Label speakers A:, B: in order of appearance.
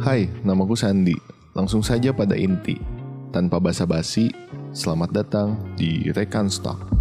A: Hai, namaku Sandi. Langsung saja pada inti. Tanpa basa-basi, selamat datang di Rekan Stock.